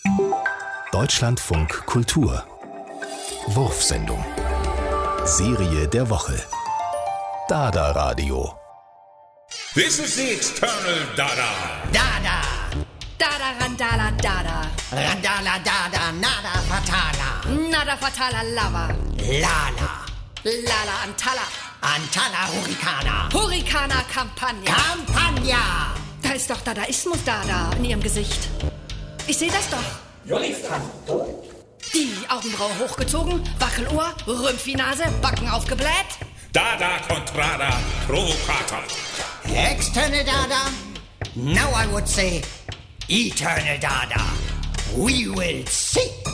Deutschlandfunk Kultur Wurfsendung Serie der Woche Dada Radio. This is the External Dada. Dada. Dada, Randala, Dada. Randala, Dada, Nada, Fatala. Nada fatala lava. Lala. Lala Antala. Antala, Hurricana. Hurricana Campagna. Campagna. Da ist doch Dadaismus Dada in ihrem Gesicht. Ich sehe das doch. Die Augenbraue hochgezogen, Wackelohr, Rümpfinase, Backen aufgebläht. Dada Contrada Provocator. External Dada. Now I would say Eternal Dada. We will see.